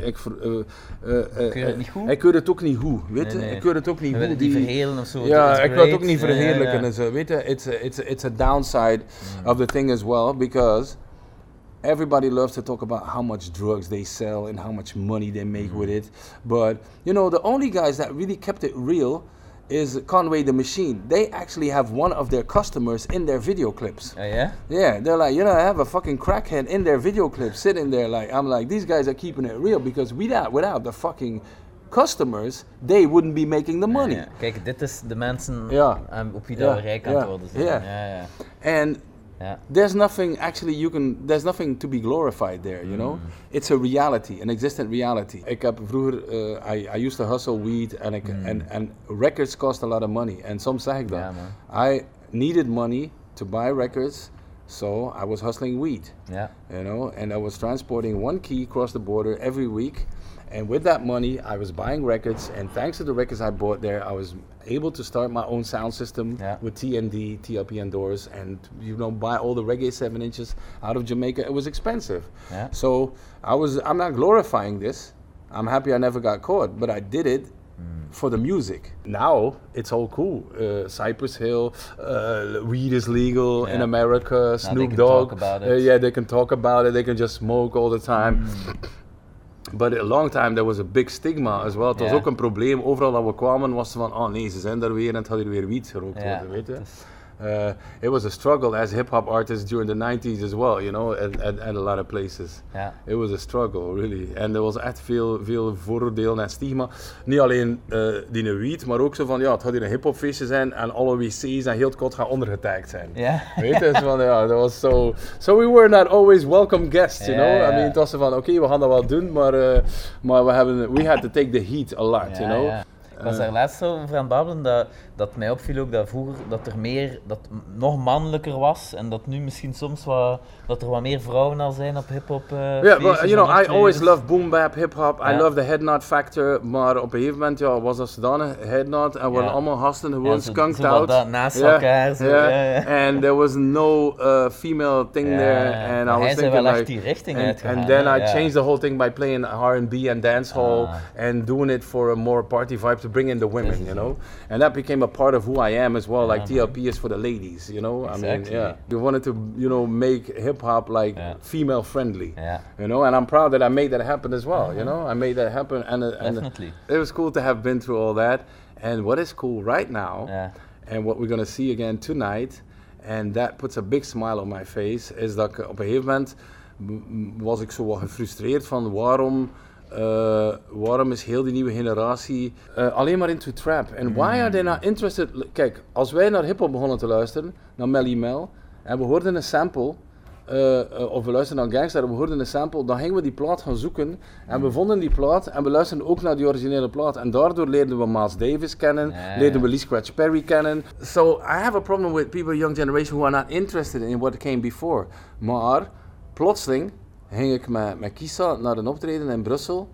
Keur het niet goed? ik keur het ook niet goed, weet je? Nee. Ik keur het ook niet We goed. willen die verhelen of zo. Ja, ik wil het ook niet verheerlijken en zo, weet je? It's a downside of the thing as well, because everybody loves to talk about how much drugs they sell and how much money they make with it, but, you know, the only guys that really kept it real is Conway the Machine. They actually have one of their customers in their video clips. Yeah? Yeah, they're like, you know, I have a fucking crackhead in their video clip sitting there. Like, I'm like, these guys are keeping it real because without the fucking customers, they wouldn't be making the money. Ja. Kijk, dit is de mensen op wie dat we rijk aan het worden zijn. And there's nothing actually there's nothing to be glorified there, you know? It's a reality, an existent reality. Ik heb vroeger, I used to hustle weed and records cost a lot of money. En soms zeg ik dat. I needed money to buy records, so I was hustling weed. Yeah. You know, and I was transporting 1 key across the border every week. And with that money, I was buying records, and thanks to the records I bought there, I was able to start my own sound system with TND, TLP and Doors, and, you know, buy all the reggae 7 inches out of Jamaica. It was expensive. Yeah. So I'm not glorifying this. I'm happy I never got caught, but I did it for the music. Now, it's all cool. Cypress Hill, weed is legal in America, Snoop Dogg. They can talk about it. They can just smoke all the time. But a long time there was a big stigma as well. Het was ook een probleem. Overal dat we kwamen was van, oh nee, ze zijn daar weer en het had hier weer wiet gerookt worden, weet je. It was a struggle as hip-hop artists during the 90s as well, you know, at a lot of places. Yeah. It was a struggle, really. And there was echt veel vooroordeel en stigma. Niet alleen die weed, maar ook zo van, het gaat hier een hip-hop feestje zijn en alle wc's en heel het kot gaan ondergetagd zijn. Yeah. Weet je, van, dat was so we were not always welcome guests, you know. I mean, het was zo van, oké, we gaan dat wel doen, maar we had to take the heat a lot, you know. was daar laatst zo over aan het babbelen, dat mij opviel ook dat vroeger dat er meer, dat nog mannelijker was en dat nu misschien soms dat er wat meer vrouwen al zijn op hip-hop. Yeah, but you know, I always loved boom bap, hip-hop. I love the head nod factor, maar op een gegeven moment was dat zodanig head nod en worden allemaal gasten gewoon skunked out. Naast elkaar. Zo, And there was no female thing there. And I was thinking like, die richting and then I changed the whole thing by playing R&B and dancehall and doing it for a more party vibe to bring in the women, you know. And that became a part of who I am as well. Like TLP is for the ladies, you know. Exactly. I mean, we wanted to, you know, make hip hop like female friendly, you know. And I'm proud that I made that happen as well, you know. I made that happen, and Definitely. It was cool to have been through all that. And what is cool right now, and what we're gonna see again tonight, and that puts a big smile on my face, is dat ik op een gegeven moment was ik zo wat gefrustreerd van waarom is heel die nieuwe generatie alleen maar into trap? En why are they not interested? Kijk, als wij naar hip-hop begonnen te luisteren, naar Melly Mel, en we hoorden een sample, of we luisterden naar Gangsta en we hoorden een sample, dan gingen we die plaat gaan zoeken en we vonden die plaat en we luisterden ook naar die originele plaat en daardoor leerden we Miles Davis kennen, leerden we Lee Scratch Perry kennen. So I have a problem with people, young generation, who are not interested in what came before. Maar plotseling ging ik met Kisa naar een optreden in Brussel.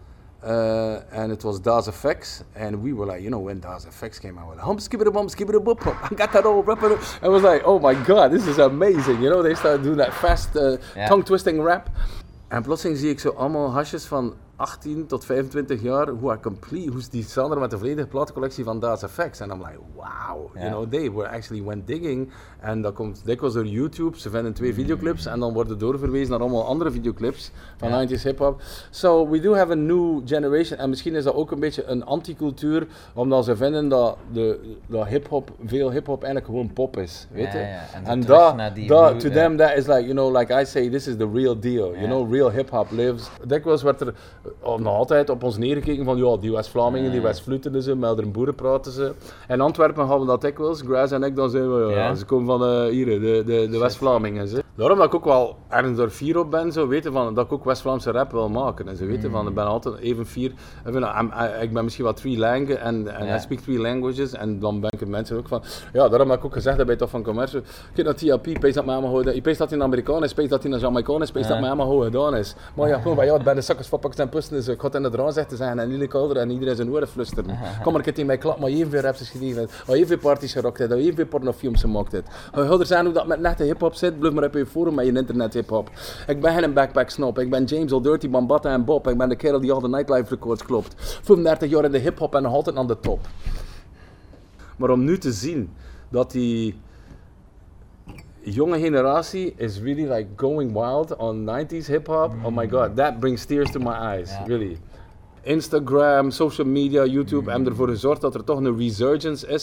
And it was Das FX, and we were like, you know, when Das FX came out, we're like, skibidi bop, I got that old rapper. I was like, oh my god, this is amazing, you know. They started doing that fast, tongue twisting rap. En plotseling zie ik zo allemaal hasjes van 18 tot 25 jaar, hoe die Sander met de volledige platencollectie van Das FX. En I'm like, wow, you know, they were actually went digging. En dat komt dikwijls door YouTube, ze vinden 2 videoclips en dan worden doorverwezen naar allemaal andere videoclips van 90s hip-hop. So we do have a new generation. En misschien is dat ook een beetje een anticultuur, omdat ze vinden dat hip-hop, veel hip-hop eigenlijk gewoon pop is, weet je. En to them that is like, you know, like I say, this is the real deal, you know, real hip-hop lives. Dikwijls werd er nog altijd op ons neergekeken van, ja, die West-Vlamingen, die West-Vluten ze, met een boeren praten ze. In Antwerpen gaan we dat dikwijls, Graz en ik, dan zijn we, ze komen van hier, de West-Vlamingen. Daarom dat ik ook wel ergens door fier op ben, zo weten van, dat ik ook West-Vlaamse rap wil maken. En ze weten van, ik ben altijd even fier. Ik ben misschien wat 3 language en I speak 3 languages. En dan ben ik mensen ook van, ja, daarom heb ik ook gezegd bij Tof van Commerce. Kijk naar TLP, pees dat mij allemaal goed. Je pees dat hij een Amerikaan is, pees dat hij een Jamaican is, pees dat mij allemaal goed gedaan is. Maar ja, gewoon bij jou, bij de zakkers van Pakistan pusten, dus ik ga het in de draan zeggen zijn en Lille Kalder en iedereen zijn oren flusteren. Kom maar, ik heb in mijn klap, maar evenveel raps is gegeven, maar evenveel parties gerokt heeft, evenveel pornofilms gemaakt heeft. Er zijn ook dat met nette hip-hop zit, blijf maar op je forum met je internet hip-hop. Ik ben geen backpack snop, ik ben James Old Dirty, Bambata en Bob, ik ben de kerel die al de nightlife records klopt. 35 jaar in de hip-hop en nog altijd aan de top. Maar om nu te zien dat die jonge generatie is really like going wild on 90s hip-hop, oh my god, that brings tears to my eyes, really. Instagram, social media, YouTube hebben ervoor gezorgd dat er toch een resurgence is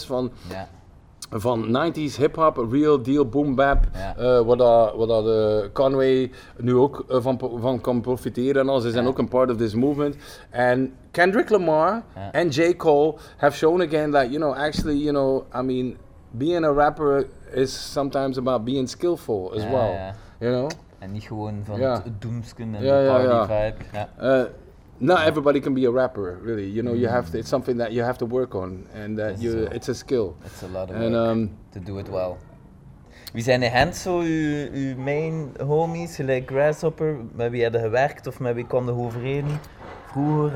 van 90s hip-hop, real deal, boom bap, waar dat Conway nu ook van kan profiteren en al. Ze zijn ook een part of this movement. And Kendrick Lamar and J. Cole have shown again that, you know, actually, you know, I mean, being a rapper is sometimes about being skillful as well, you know. En niet gewoon van het doemsken en de party vibe. Not everybody can be a rapper, really. You know, you have to, it's something that you have to work on, and that it's a skill. It's a lot of work to do it well. Wie zijn de hand zo uw main homies, gelijk Grasshopper, met wie hadden gewerkt of met wie kwam je overeen vroeger?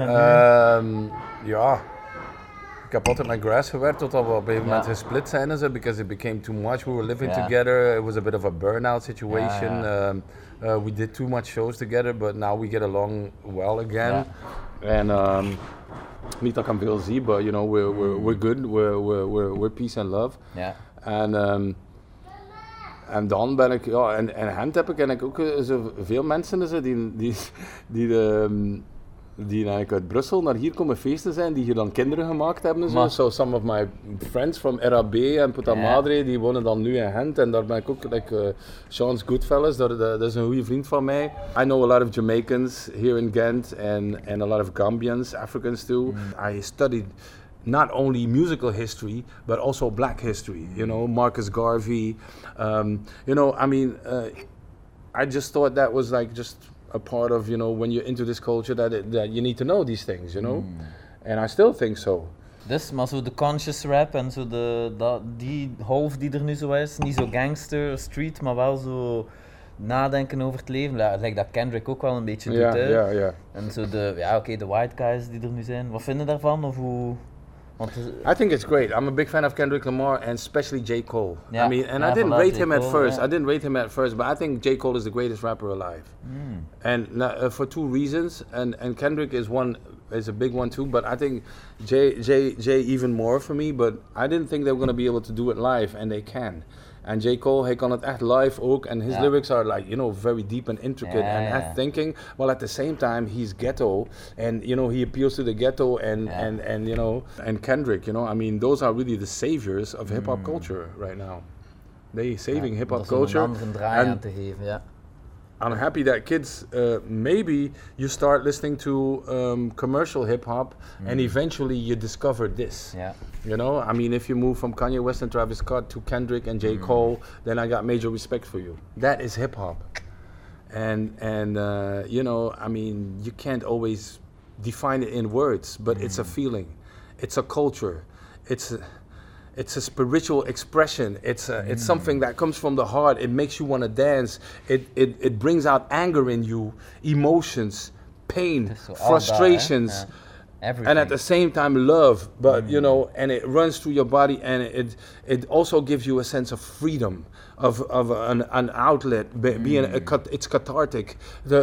Ja, ik heb altijd met Grass gewerkt totdat we op een gegeven moment gesplit zijn en zo, because it became too much. We were living together. It was a bit of a burnout situation. We did too much shows together, but now we get along well again. And niet dat ik hem veel zie, but you know, we're good. We're peace and love. En dan ben ik, en Gent heb ik ook veel mensen die eigenlijk uit Brussel naar hier komen feesten zijn, die hier dan kinderen gemaakt hebben en zo. So some of my friends from RAB en Puta Madre, die wonen dan nu in Gent en daar ben ik ook, like Sean's Goodfellas, dat is een goede vriend van mij. I know a lot of Jamaicans here in Ghent and a lot of Gambians, Africans too. I studied not only musical history, but also black history, you know, Marcus Garvey, you know, I mean, I just thought that was like just a part of, you know, when you're into this culture that you need to know these things, you know, and I still think so. Dus, maar zo de conscious rap en zo die half die er nu zo is, niet zo gangster, street, maar wel zo nadenken over het leven. Lijkt dat Kendrick ook wel een beetje doet, hè. Ja. En zo de white guys die er nu zijn. Wat vinden daarvan? Of hoe... Want, I think it's great. I'm a big fan of Kendrick Lamar and especially J. Cole. Yeah. I mean, and I didn't rate him at first. I didn't rate him at first, but I think J. Cole is the greatest rapper alive. And for two reasons. And Kendrick is a big one too. But I think J even more for me. But I didn't think they were going to be able to do it live, and they can. And J. Cole, hij kan het echt live ook. And his lyrics are like, you know, very deep and intricate and thinking. While at the same time, he's ghetto. And, you know, he appeals to the ghetto and you know, and Kendrick, you know. I mean, those are really the saviors of hip-hop culture right now. They saving hip-hop culture. Om een draai aan te geven, ja. I'm happy that kids, maybe you start listening to commercial hip-hop and eventually you discover this. Yeah. You know, I mean, if you move from Kanye West and Travis Scott to Kendrick and J. Cole, then I got major respect for you. That is hip-hop. And you know, I mean, you can't always define it in words, but it's a feeling. It's a culture. It's a spiritual expression. It's something that comes from the heart. It makes you want to dance. It brings out anger in you, emotions, pain, frustrations, and at the same time love. But you know, and it runs through your body, and it also gives you a sense of freedom, of an outlet. It's cathartic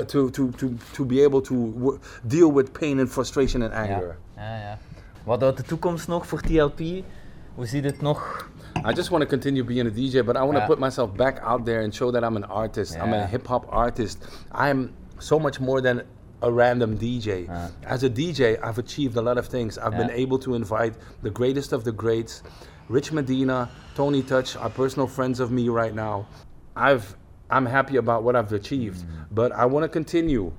to be able to deal with pain and frustration and anger. Ja. Wat uit de toekomst nog voor TLP? Hoe ziet het nog? I just want to continue being a DJ, but I want to put myself back out there and show that I'm an artist. I'm a hip-hop artist. I'm so much more than a random DJ. As a DJ, I've achieved a lot of things. I've been able to invite the greatest of the greats, Rich Medina, Tony Touch, are personal friends of me right now. I'm happy about what I've achieved, but I want to continue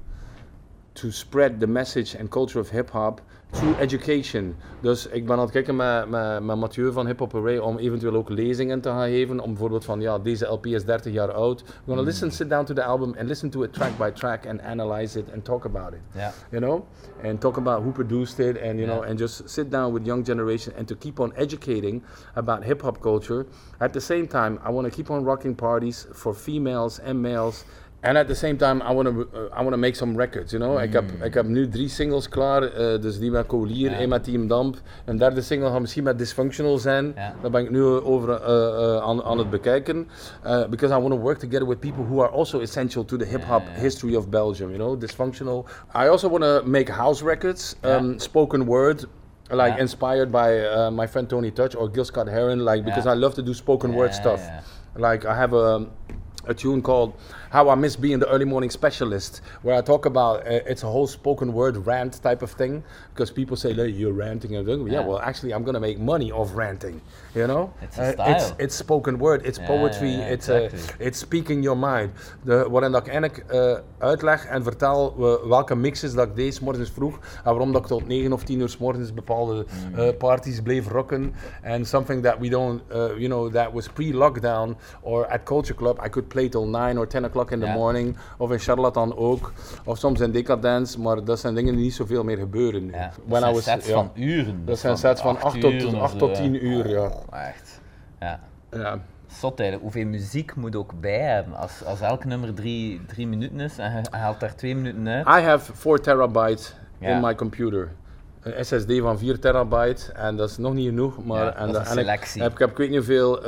to spread the message and culture of hip-hop through education. Dus ik ben aan het kijken met Mathieu van Hip Hop Array om eventueel ook lezingen te gaan geven. Om bijvoorbeeld van, ja, deze LP is 30 jaar oud. We're gonna sit down to the album and listen to it track by track and analyze it and talk about it. Yeah. You know? And talk about who produced it and, you know, and just sit down with young generation and to keep on educating about hip hop culture. At the same time, I want to keep on rocking parties for females and males. And at the same time, I want to make some records, you know. Ik heb nu 3 singles klaar, dus die met Colier, en met Team Damp. Een derde single gaat misschien met Dysfunctional zijn. Daar ben ik nu over aan het bekijken. Because I want to work together with people who are also essential to the hip-hop history of Belgium, you know. Dysfunctional. I also want to make house records, spoken word. Like inspired by my friend Tony Touch or Gil Scott Heron, like because I love to do spoken word stuff. Like I have a tune called How I Miss Being the Early Morning Specialist, where I talk about it's a whole spoken word rant type of thing, because people say, hey, you're ranting and everything. Yeah, well, actually, I'm gonna make money off ranting, you know? It's a style. It's spoken word, it's poetry, it's speaking your mind. Waarin dat ik eigenlijk uitleg en vertel welke mixes dat ik deed 's morgens vroeg, en waarom dat ik tot 9 of 10 uur 's morgens bepaalde parties bleef rocken, and something that we don't, you know, that was pre-lockdown, or at Culture Club, I could play till 9 or 10 o'clock in the morning, of in Charlatan ook, of soms in Decadence, maar dat zijn dingen die niet zoveel meer gebeuren nu. Ja, dat zijn sets van uren. Dat zijn sets van 8 tot 10 uur, ja. Echt, ja. Zot eigenlijk. Hoeveel muziek moet ook bij hebben? Als elk nummer 3 minuten is en je haalt daar 2 minuten uit. I have 4 terabytes in my computer. Een SSD van 4 terabyte en dat is nog niet genoeg, maar dat is een selectie. Ik weet niet hoeveel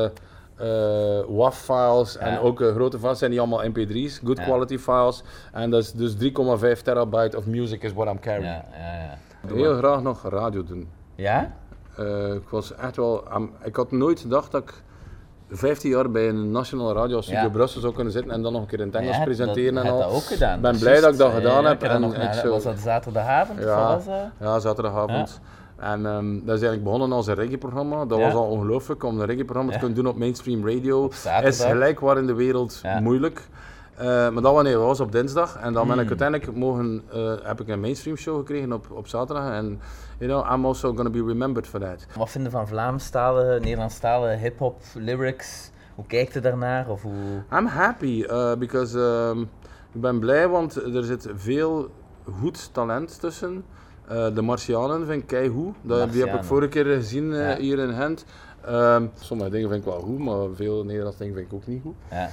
WAV-files en ook grote files zijn die allemaal MP3's, good quality files. En dat is dus 3,5 terabyte of music is what I'm carrying. Ik wil heel graag nog radio doen. Ja? Ik was echt wel, ik had nooit gedacht dat ik 15 jaar bij een nationale radio als Studio Brussel zou kunnen zitten en dan nog een keer in het Engels presenteren en al. Dat ook gedaan. Ik ben blij dat ik dat gedaan heb. Was dat zaterdagavond? Ja, zaterdagavond. En dat is eigenlijk begonnen als een reggae-programma. Dat was al ongelooflijk om een reggae-programma te kunnen doen op mainstream radio. Is gelijk waar in de wereld moeilijk. Maar dat was op dinsdag en dan ben ik uiteindelijk heb ik een mainstream show gekregen op zaterdag en you know, I'm also going to be remembered for that. Wat vind je van Vlaamstalige, Nederlandstalige hip-hop lyrics? Hoe kijkt je daarnaar? Of hoe... I'm happy because ik ben blij, want er zit veel goed talent tussen. De Martianen vind ik keigoed. Die heb ik vorige keer gezien hier in Gent. Sommige dingen vind ik wel goed, maar veel Nederlandse dingen vind ik ook niet goed. Ja.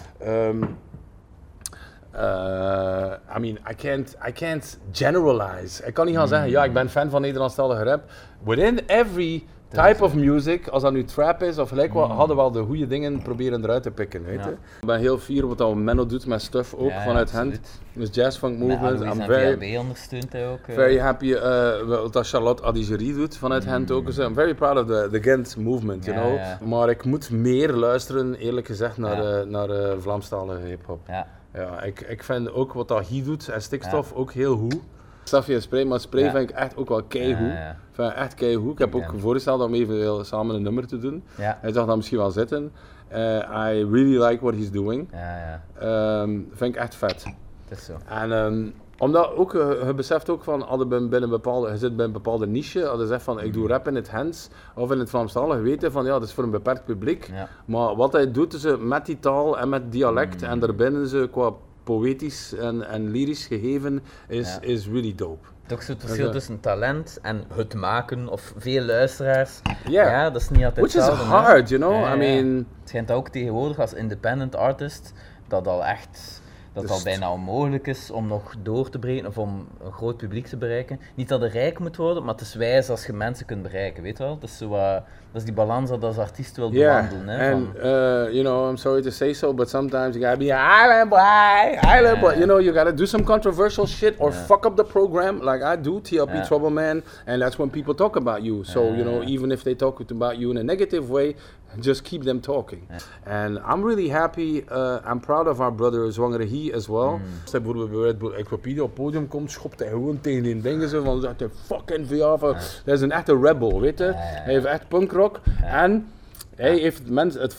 I mean, I can't generalize. Ik kan niet gaan zeggen, ja, ik ben fan van Nederlandstalige rap. Within every type of music, als dat nu trap is of gelijk wat, hadden we wel de goede dingen proberen eruit te pikken, weet je. Ik ben heel fier op wat Menno doet met stuff ook vanuit Gent. Dus Jazz Funk Movement. I'm very ondersteunt hij ook. Very happy dat Charlotte Adigéry doet vanuit Gent ook. I'm very proud of the Gent movement, you know. Yeah. Maar ik moet meer luisteren, eerlijk gezegd, naar Vlaamstalige hip-hop. Ja, ik vind ook wat dat hij doet en Stikstof ook heel goed. Safi en Spray, maar Spray vind ik echt ook wel keigoed. Vind ik echt keigoed. Ik heb ook voorgesteld om even samen een nummer te doen. Hij zag dat misschien wel zitten. I really like what he's doing. Vind ik echt vet. Dat is zo. En omdat ook, je beseft ook van, je zit bij een bepaalde niche, als je zegt van ik doe rap in het Hens of in het Vlaamstalig, weten van ja, dat is voor een beperkt publiek. Maar wat hij doet is met die taal en met dialect en daarbinnen ze qua poëtisch en lyrisch gegeven is really dope. Toch zo het verschil tussen talent en het maken of veel luisteraars. Ja, dat is niet altijd hetzelfde. Which is hard, you know? I mean... Het schijnt ook tegenwoordig als independent artist dat al echt... Dat het al bijna onmogelijk is om nog door te breken of om een groot publiek te bereiken. Niet dat het rijk moet worden, maar het is wijs als je mensen kunt bereiken, weet je wel? Dat is, dat is die balans dat als artiest wil bewandelen. Hè, and, you know, I'm sorry to say so, but sometimes you gotta be an island boy. You know, you gotta do some controversial shit or fuck up the program, like I do, TLP Trouble Man, and that's when people talk about you. So, you know, even if they talk about you in a negative way, just keep them talking. And I'm really happy, I'm proud of our brother Zwangere He as well. Als hij bijvoorbeeld bij Wikipedia op het podium komt, schopt hij gewoon tegen die dingen zo van, zegt hij fucking VA. Hij is een echte rebel, weet je. Hij heeft echt punkrock. En hij heeft mensen,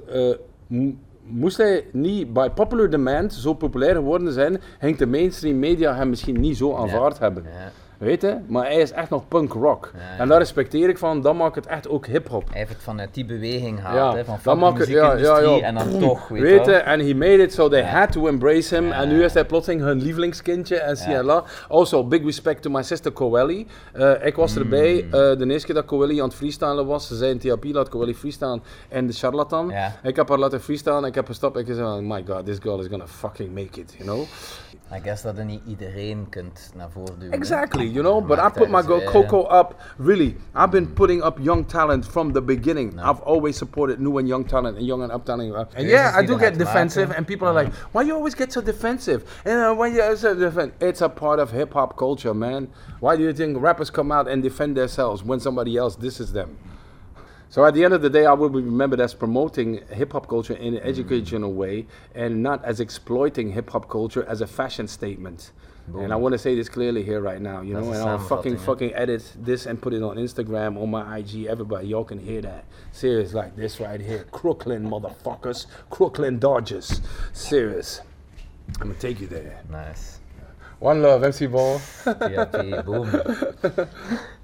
moest hij niet by popular demand zo populair geworden zijn, ging de mainstream media hem misschien niet zo aanvaard hebben. Weet je? Maar hij is echt nog punk rock. En daar respecteer ik van, dat maakt het echt ook hip-hop. Hij heeft het vanuit die beweging gehaald, hè, van de muziekindustrie en dan toch, weet je? En he made it so they had to embrace him. En nu is hij plotseling hun lievelingskindje en CLA. Also, big respect to my sister Coeli. Ik was erbij, de eerste keer dat Coeli aan het freestylen was. Ze zei in TLP, laat Coeli freestylen en de charlatan. Ik heb haar laten freestylen, ik heb gestopt en ik zei, oh my god, this girl is gonna fucking make it, you know? I guess dat je niet iedereen kunt naar voren duwen. Exactly, you know, but I put my girl Coco up, really. I've been putting up young talent from the beginning. I've always supported new and young talent and young and up talent. And I do get defensive and people are like, why you always get so defensive? And when you so defensive, it's a part of hip-hop culture, man. Why do you think rappers come out and defend themselves when somebody else disses them? So at the end of the day, I will be remembered as promoting hip-hop culture in an educational way and not as exploiting hip-hop culture as a fashion statement. Boom. And I want to say this clearly here right now, you know, and I'll fucking edit this and put it on Instagram, on my IG, everybody, y'all can hear that. Serious, like this right here. Crooklyn motherfuckers, Crooklyn Dodgers. Serious. I'm gonna take you there. Nice. One love, MC Ball. TLP, boom.